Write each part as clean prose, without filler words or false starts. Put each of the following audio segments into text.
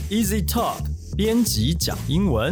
Easy Talk 编辑讲英文。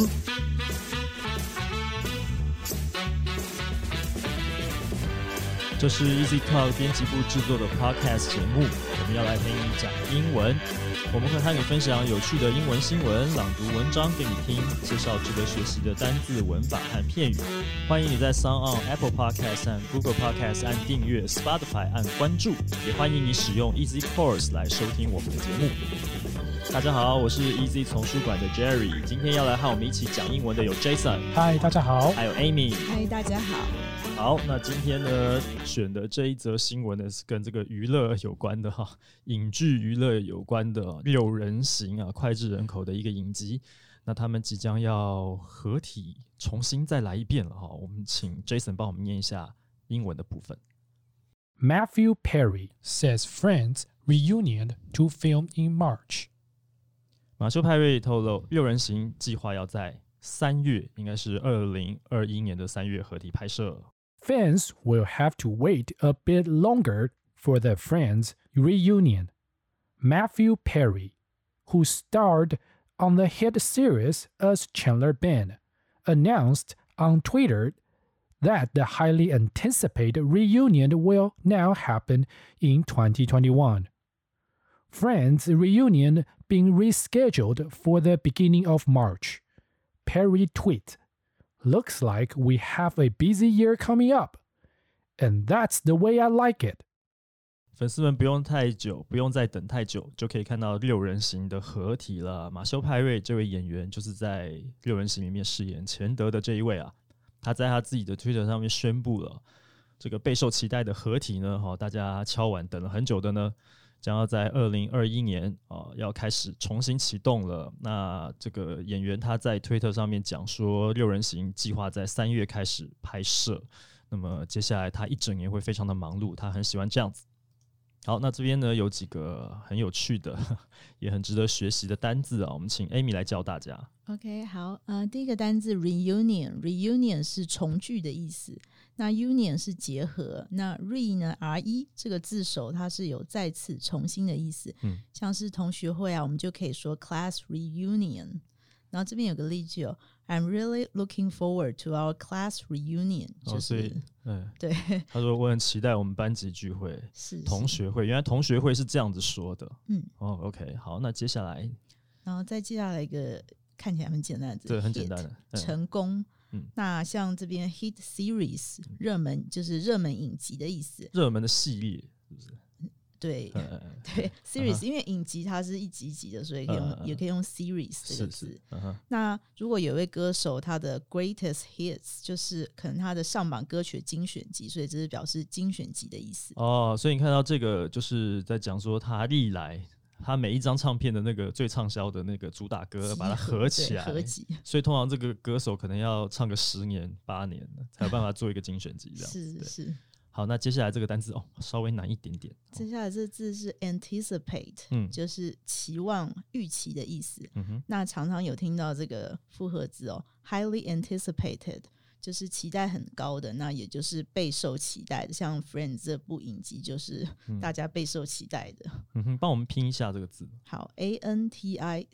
这是 Easy Talk 编辑部制作的 Podcast 节目，我们要来陪你讲英文。我们会和你分享有趣的英文新闻，朗读文章给你听，介绍值得学习的单字、文法和片语。欢迎你在 SoundOn、Apple Podcast 和 Google Podcast 按订阅， Spotify 按关注，也欢迎你使用 Easy Course 来收听我们的节目。大家好，我是 Easy 丛书馆的 Jerry， 今天要来和我们一起讲英文的有 Jason， 嗨，大家好， 还有 Amy， 嗨，大家好。 好，那今天呢选的这一则新闻呢是跟这个娱乐有关的哈，影剧娱乐有关的六人行啊，脍炙人口的一个影集。那他们即将要合体重新再来一遍了哈，我们请 Jason 帮我们念一下英文的部分。 Matthew Perry says Friends reunion to film in March。 马修派瑞透露，六人行计划要在3月，应该是2021年的3月合体拍摄。 Fans will have to wait a bit longer for the Friends reunion. Matthew Perry, who starred on the hit series as Chandler Bing, announced on Twitter that the highly anticipated reunion will now happen in 2021. Friends reunion being rescheduled for the beginning of March. Perry tweet, "Looks like we have a busy year coming up, and that's the way I like it." 粉丝们不用太久，不用再等太久，就可以看到六人行的合体了。马修派瑞这位演员就是在六人行里面饰演钱德的这一位啊。他在他自己的 Twitter 上面宣布了这个备受期待的合体呢，大家敲碗等了很久的呢，将要在2021年要开始重新启动了。那这个演员他在 Twitter 上面讲说，六人行计划在3月开始拍摄，那么接下来他一整年会非常的忙碌，他很喜欢这样子。好，那这边呢有几个很有趣的也很值得学习的单字啊，我们请 Amy 来教大家。 OK， 好，第一个单字 reunion 是重聚的意思，那 union 是结合，那 re 呢 re 这个字首它是有再次重新的意思，像是同学会啊，我们就可以说 class reunion。然后这边有个例句哦 ，I'm really looking forward to our class reunion， 就是、对， 他说我很期待我们班级聚会， 是同学会，原来同学会是这样子说的。OK， 好，那接下来， 然后再接下来一个看起来很简单的字， 对，很简单的， 成功。那像这边 hit series 热门就是热门影集的意思， 热门的系列是不是？ 对对 series， 因为影集它是一集一集的，所以也可以用 series 这个字。那如果有一位歌手他的 greatest hits 就是可能他的上榜歌曲精选集，所以这是表示精选集的意思。 所以你看到这个就是在讲说他历来他每一张唱片的那个最畅销的那个主打歌把它合起来， 合集， 所以通常这个歌手可能要唱个10年8年才有办法做一个精选集这样。 是。 好，那接下来这个单字稍微难一点点。 接下来这个字是 anticipate，就是期望、预期的意思。那常常有听到这个复合字highly anticipated， 就是期待很高的，那也就是备受期待的。像 Friends 这部影集就是大家备受期待的。 帮我们拼一下这个字。 好 ，anticipate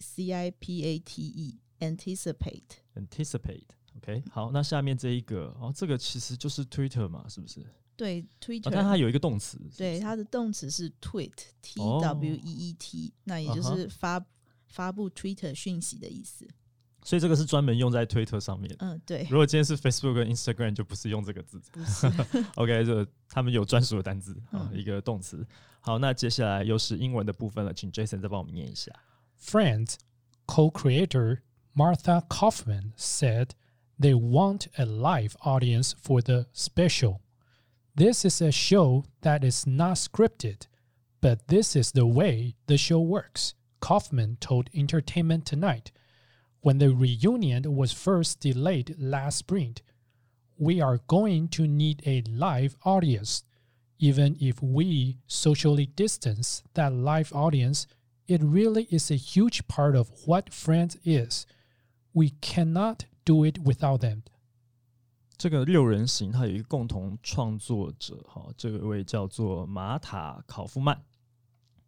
anticipate OK， 好，那下面这一个这个其实就是 Twitter 嘛，是不是？ 对 Twitter， 但它有一个动词， 对，它的动词是 tweet tweet，那也就是发布 Twitter 讯息的意思。 所以这个是专门用在 Twitter 上面。 对。 如果今天是 Facebook 跟 Instagram 就不是用这个字， 不是。 OK， 这他们有专属的单字一个动词。好，那接下来又是英文的部分了，请 Jason 再帮我们念一下。 Friends co-creator Martha Kaufman said they want a live audience for the special.This is a show that is not scripted, but this is the way the show works, Kaufman told Entertainment Tonight. When the reunion was first delayed last spring, we are going to need a live audience. Even if we socially distance that live audience, it really is a huge part of what Friends is. We cannot do it without them. 这个六人行它有一个共同创作者这位叫做马塔考夫曼。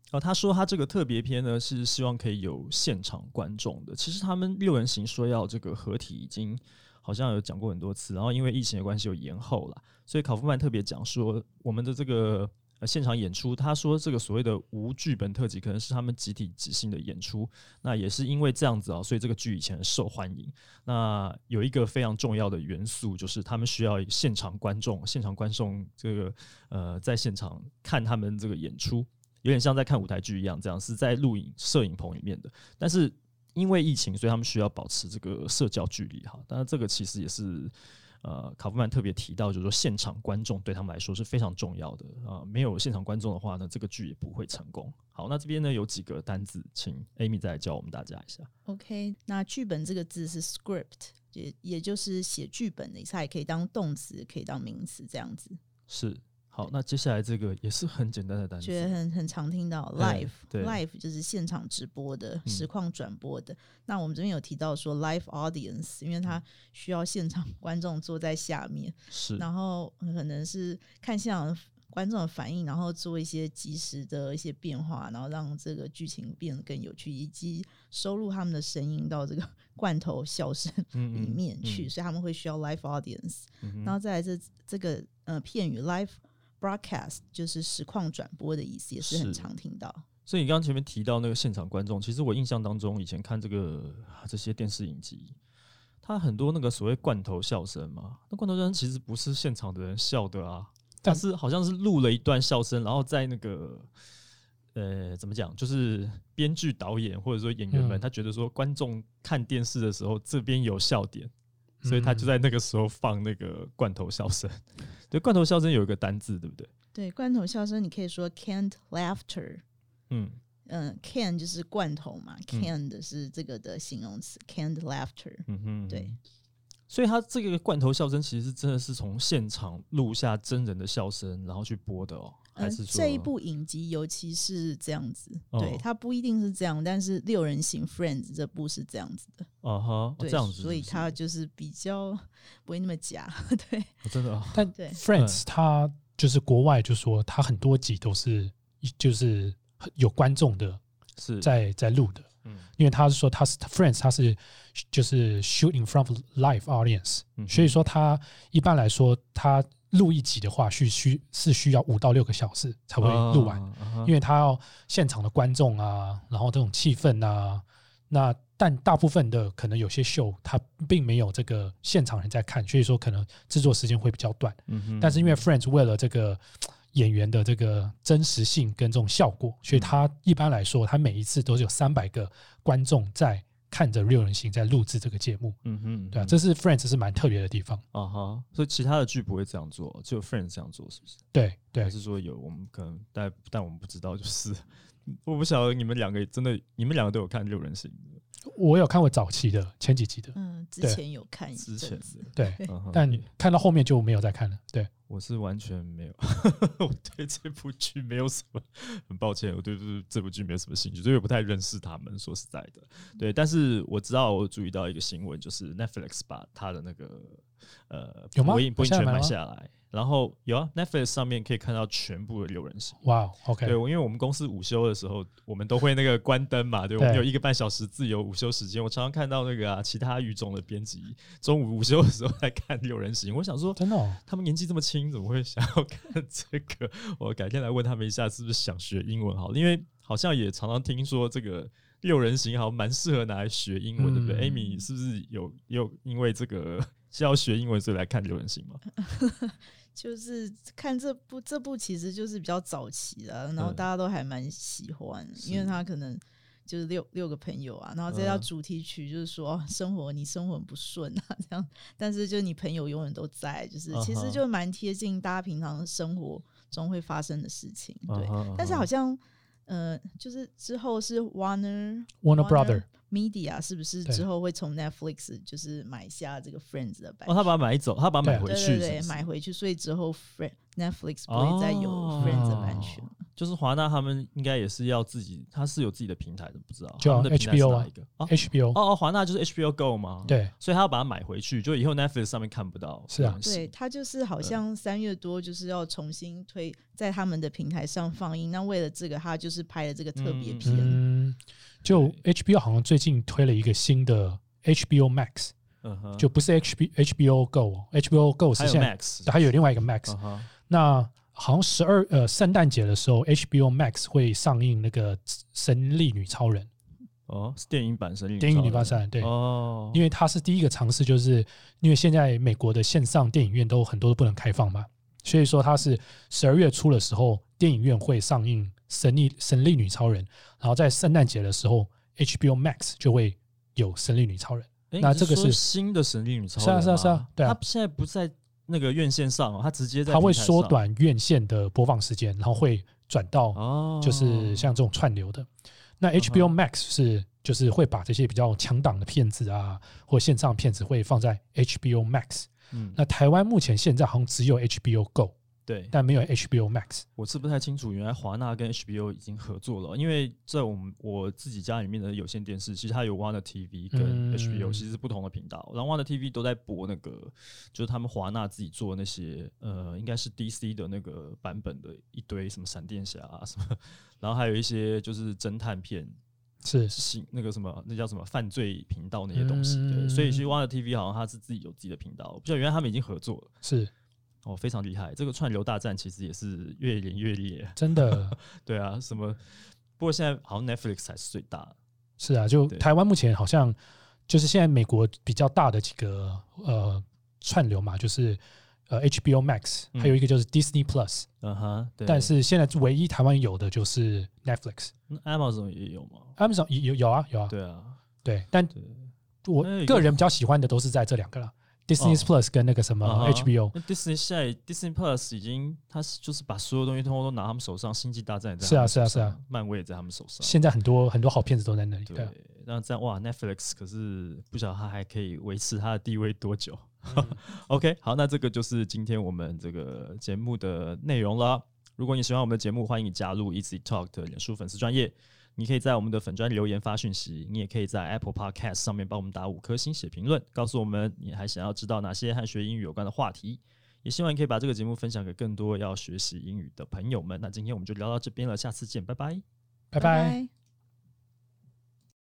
他说他这个特别篇呢是希望可以有现场观众的。其实他们六人行说要这个合体已经好像有讲过很多次，然后因为疫情的关系有延后了，所以考夫曼特别讲说我们的这个现场演出，他说这个所谓的无剧本特辑可能是他们集体即兴的演出，那也是因为这样子所以这个剧以前很受欢迎。那有一个非常重要的元素就是他们需要现场观众这个在现场看他们这个演出，有点像在看舞台剧一样，这样是在录影摄影棚里面的，但是因为疫情，所以他们需要保持这个社交距离哈。当然，这个其实也是考夫曼特别提到，就是说现场观众对他们来说是非常重要的没有现场观众的话呢，这个剧也不会成功。好，那这边呢有几个单字，请 Amy 再来教我们大家一下。 OK， 那剧本这个字是 script， 也就是写剧本的意思，它也可以当动词，可以当名词，这样子。 是。好，那接下来这个也是很简单的单词， 觉得很常听到 live 就是现场直播的、实况转播的。那我们这边有提到说 live audience， 因为它需要现场观众坐在下面， 是， 然后可能是看现场观众的反应，然后做一些即时的一些变化，然后让这个剧情变得更有趣，以及收录他们的声音到这个罐头笑声里面去，所以他们会需要 live audience。然后再来这个片语 live broadcast 就是实况转播的意思，也是很常听到。 所以你刚刚前面提到那个现场观众，其实我印象当中以前看这些电视影集，它很多那个所谓罐头笑声嘛，那罐头笑声其实不是现场的人笑的啊，但是好像是录了一段笑声，然后在那个怎么讲，就是编剧导演或者说演员们，他觉得说观众看电视的时候这边有笑点，所以他就在那个时候放那个罐头笑声。对，罐头笑声有一个单字，对不对？ 对，罐头笑声你可以说 canned laughter。can 就是罐头嘛，canned 是这个的形容词 ，canned laughter。对。 所以他这个罐头笑声其实真的是从现场录下真人的笑声，然后去播的还是说这一部影集尤其是这样子？对，它不一定是这样，但是六人行 Friends 这部是这样子的。对， 这样子， 所以它就是比较不会那么假。对， 真的。 但 Friends 它就是国外就说它很多集都是就是有观众的在录的。因为他是说他是 Friends， 他是就是 shoot in front of live audience，所以说他一般来说他录一集的话是需要5到6个小时才会录完，因为他要现场的观众啊，然后这种气氛啊，但大部分的可能有些秀他并没有这个现场人在看，所以说可能制作时间会比较短。但是因为 Friends 为了这个演员的这个真实性跟这种效果，所以他一般来说他每一次都是有300个观众在看着六人行在录制这个节目。对啊，这是 Friends 是蛮特别的地方。 所以其他的剧不会这样做，只有 Friends 这样做，是不是？ 对，还是说有我们可能但我们不知道，就是我不晓得你们两个都有看六人行的。 我有看过早期的前几集的， 之前有看一阵子， 对，但看到后面就没有再看了。对， 我是完全没有，我对这部剧没有什么，很抱歉，我对这部剧没有什么兴趣，所以我不太认识他们。说实在的，对，但是我知道，我注意到一个新闻，就是 Netflix 把他的那个播音权买下来。然后有啊 ，Netflix 上面可以看到全部的六人行。 哇 ，OK。 对，因为我们公司午休的时候，我们都会那个关灯嘛，对，我们有1个半小时自由午休时间。我常常看到那个其他语种的编辑中午午休的时候在看六人行。我想说， 真的他们年纪这么轻，怎么会想要看这个？我改天来问他们一下，是不是想学英文好了？因为好像也常常听说这个六人行好像蛮适合拿来学英文，对不对？Amy 是不是有因为这个是要学英文所以来看六人行吗？ 就是看这部其实就是比较早期的，然后大家都还蛮喜欢，因为他可能就是六个朋友啊，然后这条主题曲就是说你生活很不顺啊这样，但是就你朋友永远都在，就是其实就蛮贴近大家平常生活中会发生的事情。对，但是好像就是之后是 Warner Brother Media 是不是之后会从 Netflix 就是买下这个 Friends 的版权？ 他把它买走，他把它买回去， 对，买回去，所以之后 Netflix 不会再有 Friends 的版权了。 就是华纳他们应该也是要自己，他是有自己的平台的，不知道就他们的平台是 HBO 哪一个 HBO 华纳就是 HBO Go 吗？ 对， 所以他要把它买回去，就以后 Netflix 上面看不到。 是啊， 对，他就是好像3月多就是要重新推在他们的平台上放映。那为了这个，他就是拍了这个特别片。 就 HBO 好像最近推了一个新的 HBO Max，就不是 HBO Go，HBO Go 是现在还有另外一个 Max。那好像圣诞节的时候 HBO Max 会上映那个神力女超人。 是电影版神力女超人。 电影女超人，对。因为它是第一个尝试，就是因为现在美国的线上电影院都很多都不能开放嘛，所以说它是12月初的时候电影院会上映神力女超人，然后在圣诞节的时候 HBO Max 就会有神力女超人。那这个是新的神力女超人吗？ 是啊，对啊。 它现在不在那个院线上它直接在它会缩短院线的播放时间，然后会转到就是像这种串流的。那 HBO Max 就是会把这些比较强档的片子啊，或线上片子会放在 HBO Max。那台湾目前现在好像只有 HBO Go。 对， 但没有 HBO Max。 我是不太清楚，原来华纳跟 HBO 已经合作了，因为在我自己家里面的有线电视，其实它有 Warner TV 跟 HBO，其实是不同的频道。然后 Warner TV 都在播那个，就是他们华纳自己做的那些，应该是 DC 的那个版本的一堆什么闪电侠什么，然后还有一些就是侦探片。 是那个什么，那叫什么犯罪频道那些东西，对，所以其实 Warner TV 好像它是自己有自己的频道，我不知道原来他们已经合作了， 是非常厉害。这个串流大战其实也是越演越烈， 真的。 对啊，什么？不过现在好像 Netflix 才是最大的。 是啊，就台湾目前好像就是现在美国比较大的几个串流嘛，就是HBO Max，还有一个就是 Disney Plus。 对。 但是现在唯一台湾有的就是 Netflix。Amazon 也有吗 ？Amazon 有啊。 对啊， 对，但我个人比较喜欢的都是在这两个啦。Disney Plus 跟那个什么 HBO。Disney 现在 Disney Plus 已经，他就是把所有东西通通都拿他们手上，星际大战也在他们手上，是啊，漫威也在他们手上。 现在很多好片子都在那里。 对，那这样哇 ，Netflix 可是不晓得他还可以维持他的地位多久。OK， 好，那这个就是今天我们这个节目的内容了。如果你喜欢我们的节目，欢迎你加入 Easy Talk 的脸书粉丝专页。你可以在我们的粉专留言发讯息，你也可以在 Apple Podcast 上面帮我们打5颗星写评论，告诉我们你还想要知道哪些和学英语有关的话题。也希望你可以把这个节目分享给更多要学习英语的朋友们。那今天我们就聊到这边了，下次见，拜拜， 拜拜。